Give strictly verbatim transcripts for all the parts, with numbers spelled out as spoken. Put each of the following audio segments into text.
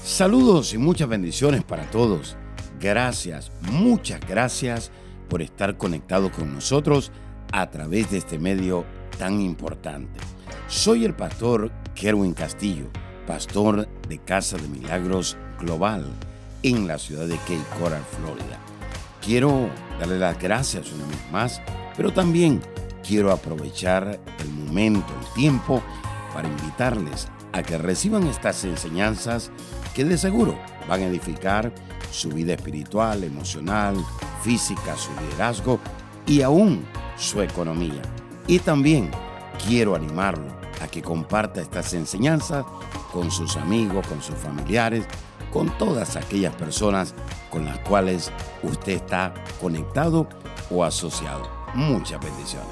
Saludos y muchas bendiciones para todos. Gracias, muchas gracias por estar conectados con nosotros a través de este medio tan importante. Soy el pastor Kerwin Castillo, pastor de Casa de Milagros Global en la ciudad de Cape Coral, Florida. Quiero darle las gracias una vez más, pero también quiero aprovechar el momento, el tiempo, para invitarles a que reciban estas enseñanzas que de seguro van a edificar su vida espiritual, emocional, física, su liderazgo y aún su economía. Y también quiero animarlo a que comparta estas enseñanzas con sus amigos, con sus familiares, con todas aquellas personas con las cuales usted está conectado o asociado. Muchas bendiciones.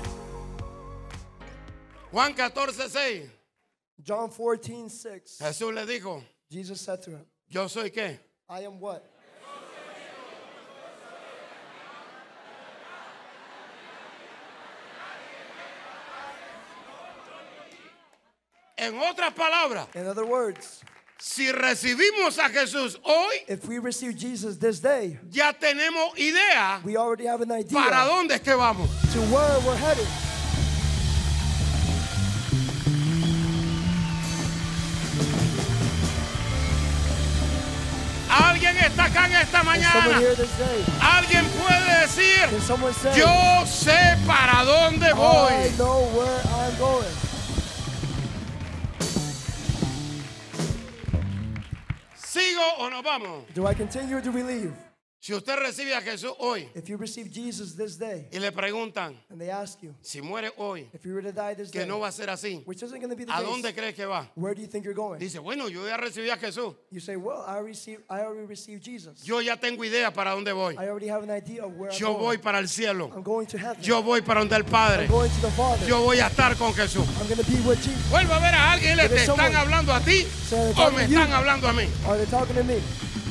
Juan catorce seis. John fourteen six. Jesús le dijo, Jesus said to him, ¿yo soy qué? I am what? En otras palabras, In other words, si recibimos a Jesús hoy, if we receive Jesus this day, ya tenemos idea we already have an idea para dónde es que vamos. to where we're headed. Alguien está acá en esta Is someone mañana. here this day? Alguien puede decir, Can someone say, yo sé para dónde I voy. know where I'm going? ¿Sigo o nos vamos? Do I continue or do we leave? Si usted recibe a Jesús hoy If you receive Jesus this day, y le preguntan, and they ask you, si muere hoy, if you were to die this que day, no va a ser así, which isn't going to be the ¿a dónde case, crees que va? where do you think you're going? Dice, bueno, yo ya recibí a Jesús. You say, well, I received, I already received Jesus. Yo ya tengo idea para dónde voy. I already have an idea of where Yo I'm voy going. para el cielo. I'm going to heaven. Yo voy para donde el Padre. I'm going to the Father. Yo voy a estar con Jesús. I'm going to be with Jesus. Vuelvo a ver a alguien y le There is te están someone- hablando a ti they're o talking me to you. están hablando a mí. Are they talking to me?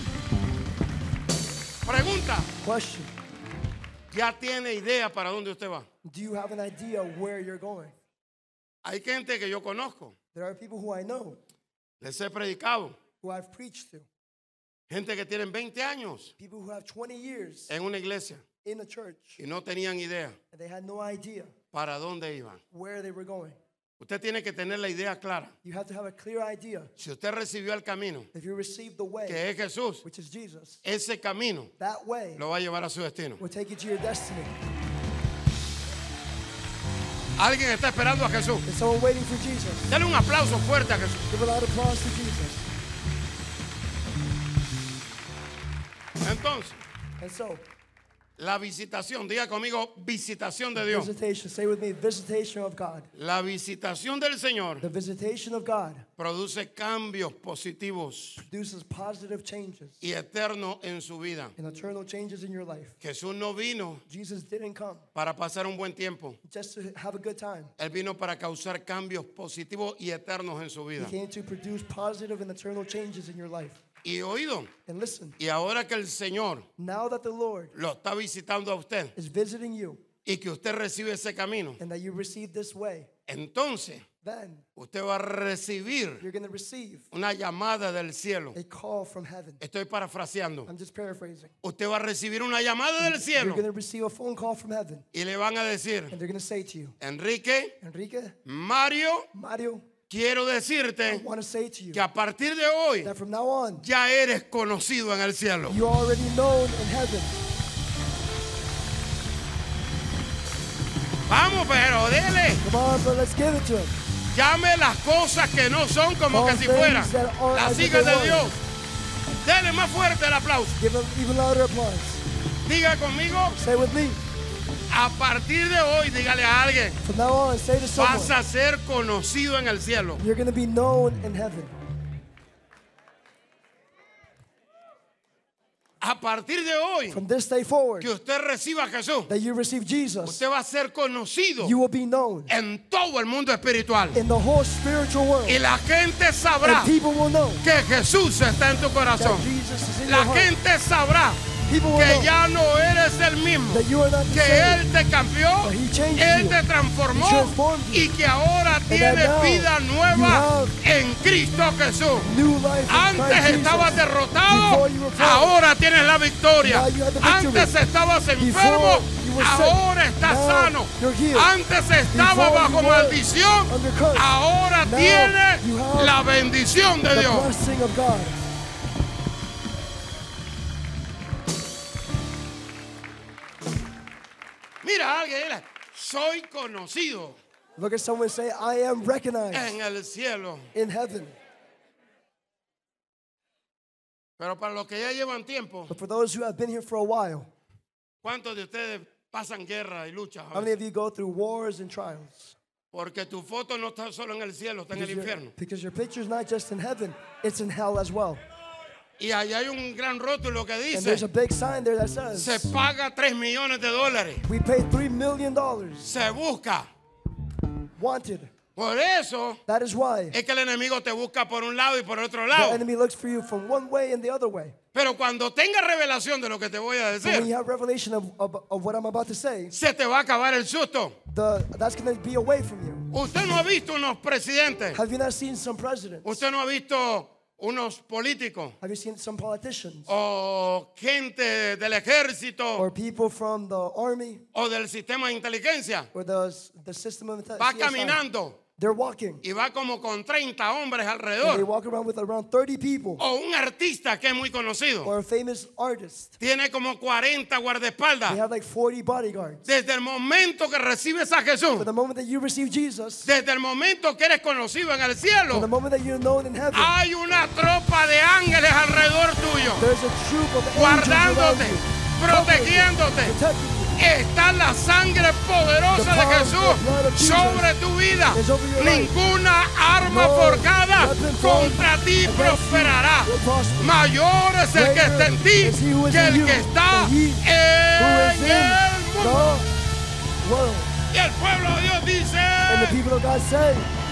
Pregunta, Question. ¿ya tiene idea para dónde usted va? Do you have an idea of where you're going? Hay gente que yo conozco, There are people who I know, les he predicado, who I've preached to, gente que tienen veinte años people who have twenty years en una iglesia in a church, y no tenían idea and they had no idea para dónde iban. where they were going. Usted tiene que tener la idea clara. You have to have a clear idea. Si usted recibió el camino, If you receive the way, que es Jesús, which is Jesus, ese camino that way lo va a llevar a su destino. will take you to your destiny. Alguien está esperando a Jesús. Is someone waiting for Jesus? Dale un aplauso fuerte a Jesús. Give a loud applause to Jesus. Entonces, And so, la visitación, diga conmigo, visitación de Dios. visitation, say with me, visitation of God. La visitación del Señor The visitation of God produce cambios positivos produces positive changes y eternos en su vida. and eternal changes in your life. Jesús no vino Jesus didn't come para pasar un buen tiempo. just to have a good time. Él vino para causar cambios positivos y eternos en su He vida. came to produce positive and eternal changes in your life. Y oído, And listen, y ahora que el Señor now that the Lord lo está visitando a usted is visiting you y que usted recibe ese camino, and that you receive this way, entonces then usted va a recibir you're going to receive una llamada del cielo. a call from heaven. Estoy parafraseando. I'm just paraphrasing. Usted va a recibir una llamada del You're cielo going to receive a phone call from heaven, y le van a decir, and they're going to say to you, Enrique, Enrique, Mario, Mario, quiero I decirte want to say to you que a partir de hoy that from now on, ya eres conocido en el cielo. you're already known in heaven. Vamos, pero dele. Come on, but let's give it to him. Llame las cosas que no son como All que si things fueran that are las as if hijas they de were. Dios. Dele más fuerte el aplauso. Give him even louder applause. Diga conmigo, Say with me, a partir de hoy, dígale a alguien, from now on, say to someone, vas a ser conocido en el cielo. you're going to be known in heaven. A partir de hoy From this day forward, que usted reciba a Jesús, that you receive Jesus, usted va a ser conocido you will be known en todo el mundo espiritual. in the whole spiritual world. Y la gente sabrá And people will know que Jesús está en tu that corazón. Jesus is in your La heart. gente sabrá People will que know ya no eres el mismo, that you are not the que same. Él te cambió, But he changed Él you. te transformó He transformed you. y que ahora that tienes now vida you nueva have en Cristo Jesús. New life in Antes Christ estabas Jesus. derrotado, Before you were fallen. ahora tienes la victoria. Now you have the victory. Antes estabas enfermo, Before you were sick. ahora estás Now sano. you're healed. Antes estabas Before bajo you were maldición, under curse. ahora Now tienes you have la bendición de The Dios. blessing of God. Mira a alguien, dile, soy conocido Look at someone and say, I am recognized en el cielo. in heaven. Pero para los que ya llevan tiempo, But for those who have been here for a while, ¿cuántos de ustedes pasan guerra y luchas? a how many veces? of you go through wars and trials? Porque tu foto no está solo en el cielo, está en el Because your, infierno. because your picture's not just in heaven, it's in hell as well. Y ahí hay un gran rótulo que And there's a dice, big sign there that se says, paga tres millones de dólares. we pay three million dollars Se busca. wanted. Por eso That is why es que el enemigo te busca por un lado y por otro the lado. enemy looks for you from one way and the other way. Pero cuando tenga revelación de lo que te voy a But when you decir, have revelation of, of, of what I'm about to say, se te va a acabar el susto. the, that's going to be away from you. Usted no ha visto unos presidentes. Have you not seen some presidents? Usted no ha visto unos políticos Have you seen some politicians? o gente del ejército Or people from the army o del sistema de inteligencia. or the, the system of Va C S I? caminando They're walking. y va como con treinta hombres And they alrededor. walk around with around thirty people. O un artista que es muy conocido. Or a famous artist. Tiene como cuarenta They guardaespaldas. have like forty bodyguards. Desde el momento que recibes a Jesús, For the moment that you receive Jesus, desde el momento que eres conocido en el from the cielo, moment that you're known in heaven, hay una tropa de ángeles alrededor tuyo, there's a troop of angels around guardándote, you, protegiéndote. protecting you. Está la sangre poderosa de Jesús sobre tu vida. Ninguna arma forjada contra ti prosperará. Mayor es el que está en ti que el que está Who en is el in mundo. the world. Y el pueblo de Dios dice, And the people of God say,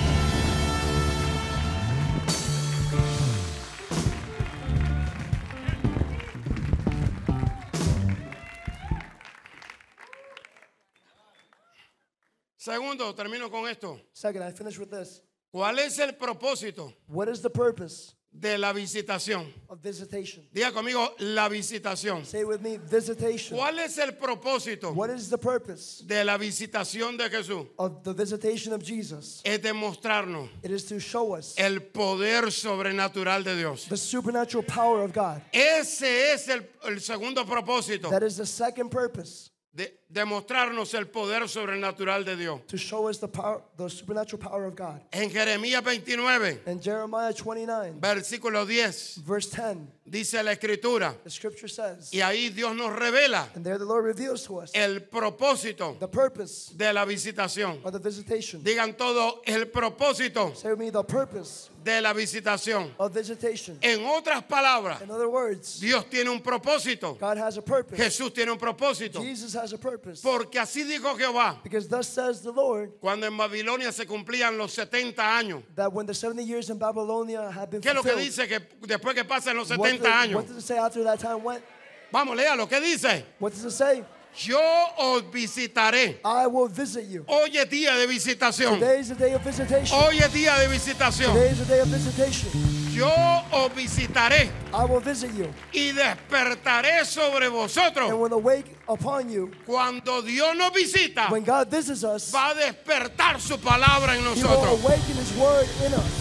segundo, termino con esto. second, I finish with this. ¿Cuál es el propósito What is the purpose de la visitación? of visitation? Diga conmigo, la visitación. Say it with me, visitation. ¿Cuál es el propósito What is the purpose de la visitación de Jesús? of the visitation of Jesus? Es demostrarnos It is to show us el poder sobrenatural de Dios. the supernatural power of God. Ese es el, el segundo propósito, That is the second purpose, de demostrarnos el poder sobrenatural de Dios. to show us the power, the supernatural power of God. En Jeremías veintinueve, In Jeremiah twenty-nine, versículo diez, verse ten, dice la escritura, the scripture says, y ahí Dios nos revela and there the Lord reveals to us el propósito the purpose de la visitación. of the visitation. Digan todo, el propósito Say with me, the purpose de la visitación. of visitation. En otras palabras, In other words, Dios tiene un propósito. God has a purpose. Jesús tiene un propósito. Jesus has a purpose. Porque así dijo Jehová, Because thus says the Lord, cuando en Babilonia se cumplían los setenta años. that when the seventy years in Babylonia had been ¿Qué es lo que fulfilled, dice que después que pasen los what, setenta does- años? what does it say after that time went? Vamos, léalo. ¿Qué dice? What does it say? Yo os visitaré. I will visit you. Hoy es día de visitación. Today is the day of visitation. Hoy es día de visitación. Today is the day of visitation. Yo os visitaré I will visit you. y despertaré sobre And vosotros. will awake upon you. Cuando Dios nos visita, When God visits us, va a despertar su palabra en He will nosotros. awaken His word in us.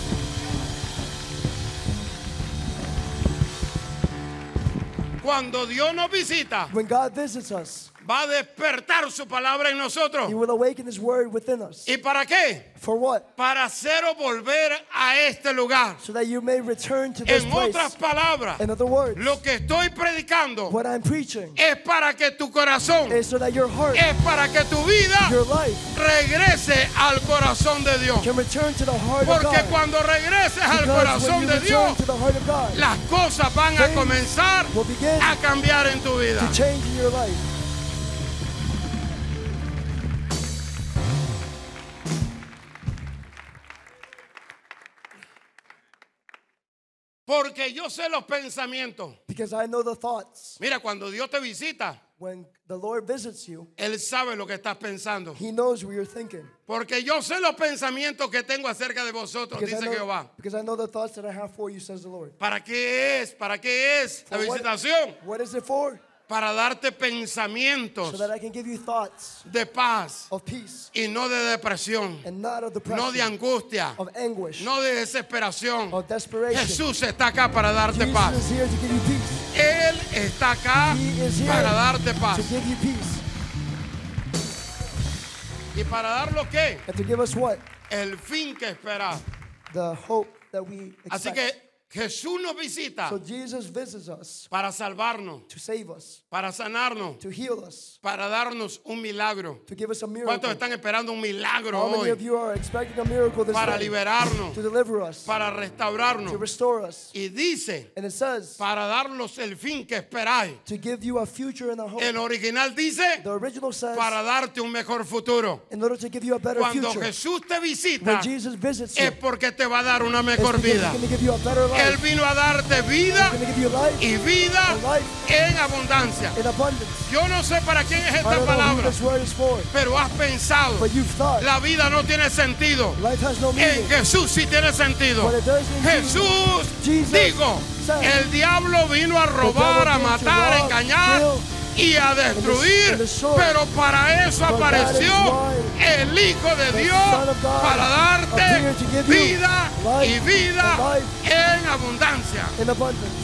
Cuando Dios nos visita, When God visits us, va a despertar su palabra en nosotros. He will awaken His word within us. ¿Y para qué? For what? Para haceros volver a este lugar. So that you may return to this En place. otras palabras, In other words, lo que estoy predicando what I'm preaching es para que tu corazón, is so that your heart, es para que tu vida your life, regrese al corazón de Dios. can return to the heart of Porque God. cuando regreses al Because when corazón you de return Dios, to the heart of God, las cosas van a things comenzar will begin a cambiar en tu vida. to change in your life. Porque yo sé los pensamientos. Because I know the thoughts. Mira, cuando Dios te visita, When the Lord visits you, Él sabe lo que estás pensando. He knows what you're thinking. Porque yo sé los pensamientos que tengo acerca de vosotros, Because I, dice know, Jehová. because I know the thoughts that I have for you, says the Lord. ¿Para qué es? ¿Para qué es la For what- visitación? What is it for? Para darte So pensamientos that I can give you thoughts de paz of peace y no de depresión, and not of depression, no de angustia, of anguish, no de desesperación. of desperation. Jesús está acá para darte Jesus paz. is here to give you peace. Él está acá He is here para darte to paz. give you peace. ¿Y para dar lo qué? And to give us what? El fin que esperar. The hope that we Así expect. que Jesús nos visita So Jesus visits us para salvarnos, to save us, para sanarnos, to heal us, para darnos un milagro. to give us a miracle. ¿Cuántos están esperando un milagro How many hoy? of you are expecting a miracle this Para day? liberarnos, To deliver us, para to restaurarnos. restore us. Y dice, And it says, para darnos el fin que esperáis. to give you a future and a hope. El original dice, The original says, para darte un mejor futuro. in order to give you a better Cuando future. Jesús te When visita, Jesus visits you, es porque te va a dar una it's mejor because vida. He's going to give you a better Él life. vino a darte vida He's going to give you life y vida en abundancia. in abundance. Yo no sé para quién es I esta don't know who palabra, this word is for, pero has pensado, but you've thought la vida no tiene sentido. life has no En meaning. Jesús sí tiene sentido. But it does in Jesús, Jesus digo, said, el diablo vino a robar, a devil came to matar, a rob, engañar kill, y a destruir, and destroy. pero para eso But that is apareció why el Hijo de the Dios, Son of God para darte appeared to give you vida life y vida and life en abundancia. in abundance.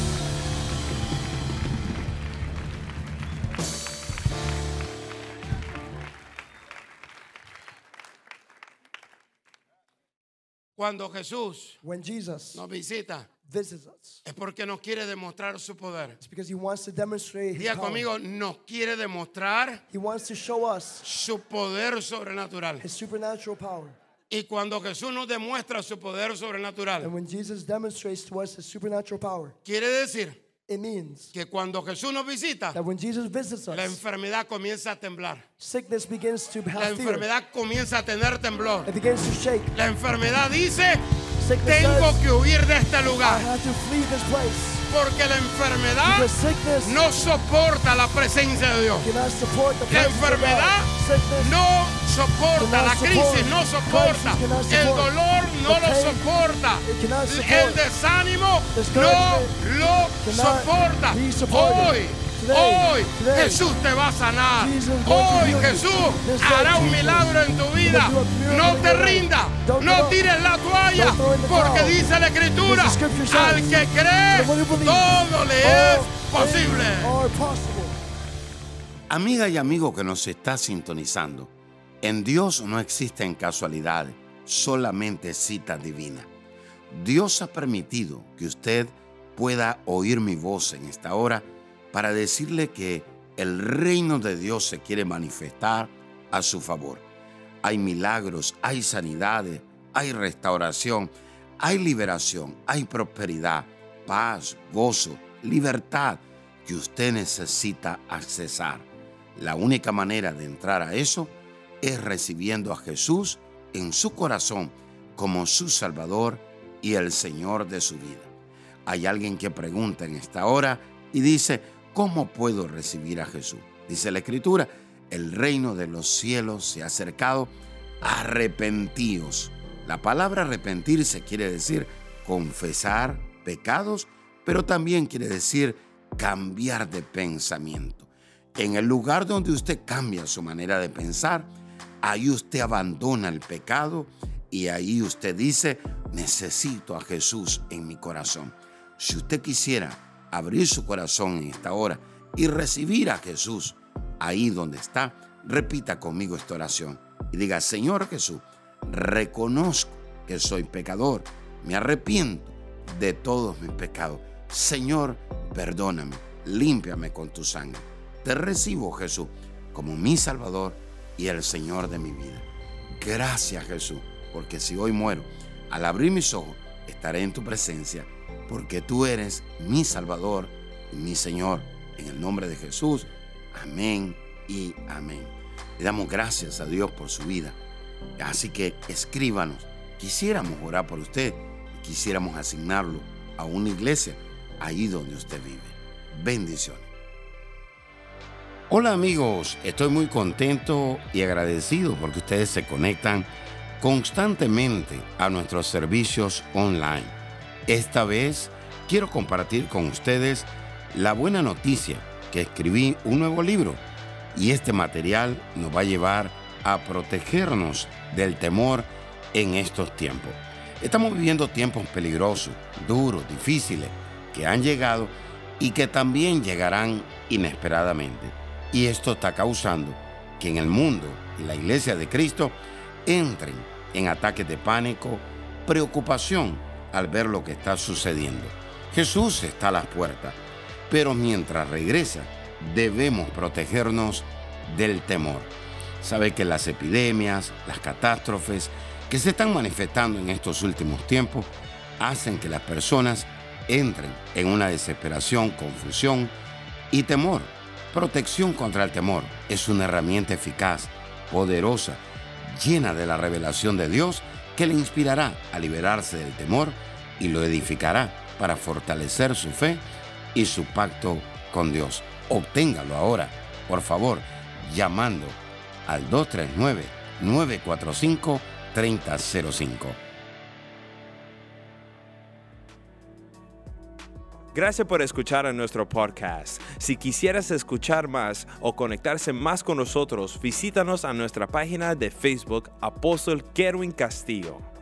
Cuando Jesús When Jesus nos visita, visits us, es porque nos quiere demostrar su poder. it's because He wants to demonstrate His Diga power. conmigo, nos quiere demostrar He wants to show us su poder sobrenatural. His supernatural power. Y cuando Jesús nos demuestra su poder And sobrenatural, when Jesus demonstrates to us His supernatural power, quiere decir it means que cuando Jesús nos visita, that when Jesus visits la us, enfermedad comienza a temblar. sickness begins to La have fear. enfermedad comienza a tener temblor. It begins to shake. La enfermedad dice, Sickness tengo says, que huir de este I lugar. have to flee this place. Porque la enfermedad Because sickness no soporta la presencia de Dios. cannot support the La presence of enfermedad God. Sickness no soporta, cannot la crisis no support. soporta, Crisis cannot el support. dolor no The lo pain, soporta, it cannot el support. desánimo no Discouragement lo cannot soporta. be supported. Hoy, Today, hoy today, Jesús te va a sanar. Jesus is going to Hoy heal you. Jesús This hará day, un Jesus milagro en tu vida. will do a miracle No in te your life. rindas, Don't no give up. tires la toalla, Don't throw in the porque towel. dice la Escritura, Because the scripture says, al que cree, the one who believes, todo le es all posible. things are possible. Amiga y amigo que nos está sintonizando, en Dios no existen casualidades, solamente citas divinas. Dios ha permitido que usted pueda oír mi voz en esta hora para decirle que el reino de Dios se quiere manifestar a su favor. Hay milagros, hay sanidades, hay restauración, hay liberación, hay prosperidad, paz, gozo, libertad que usted necesita accesar. La única manera de entrar a eso es recibiendo a Jesús en su corazón como su Salvador y el Señor de su vida. Hay alguien que pregunta en esta hora y dice, ¿cómo puedo recibir a Jesús? Dice la Escritura, el reino de los cielos se ha acercado, arrepentíos. La palabra arrepentirse quiere decir confesar pecados, pero también quiere decir cambiar de pensamiento. En el lugar donde usted cambia su manera de pensar, ahí usted abandona el pecado y ahí usted dice, necesito a Jesús en mi corazón. Si usted quisiera abrir su corazón en esta hora y recibir a Jesús ahí donde está, repita conmigo esta oración y diga, Señor Jesús, reconozco que soy pecador, me arrepiento de todos mis pecados. Señor, perdóname, límpiame con tu sangre. Te recibo, Jesús, como mi Salvador y el Señor de mi vida. Gracias, Jesús, porque si hoy muero, al abrir mis ojos, estaré en tu presencia, porque tú eres mi Salvador y mi Señor. En el nombre de Jesús, amén y amén. Le damos gracias a Dios por su vida. Así que escríbanos. Quisiéramos orar por usted y quisiéramos asignarlo a una iglesia ahí donde usted vive. Bendiciones. Hola amigos, estoy muy contento y agradecido porque ustedes se conectan constantemente a nuestros servicios online. Esta vez quiero compartir con ustedes la buena noticia que escribí un nuevo libro y este material nos va a llevar a protegernos del temor en estos tiempos. Estamos viviendo tiempos peligrosos, duros, difíciles, que han llegado y que también llegarán inesperadamente. Y esto está causando que en el mundo y la iglesia de Cristo entren en ataques de pánico, preocupación al ver lo que está sucediendo. Jesús está a las puertas, pero mientras regresa, debemos protegernos del temor. Sabe que las epidemias, las catástrofes que se están manifestando en estos últimos tiempos hacen que las personas entren en una desesperación, confusión y temor. Protección contra el temor es una herramienta eficaz, poderosa, llena de la revelación de Dios que le inspirará a liberarse del temor y lo edificará para fortalecer su fe y su pacto con Dios. Obténgalo ahora, por favor, llamando al dos tres nueve, nueve cuatro cinco, tres cero cero cinco. Gracias por escuchar a nuestro podcast. Si quisieras escuchar más o conectarse más con nosotros, visítanos a nuestra página de Facebook, Apóstol Kerwin Castillo.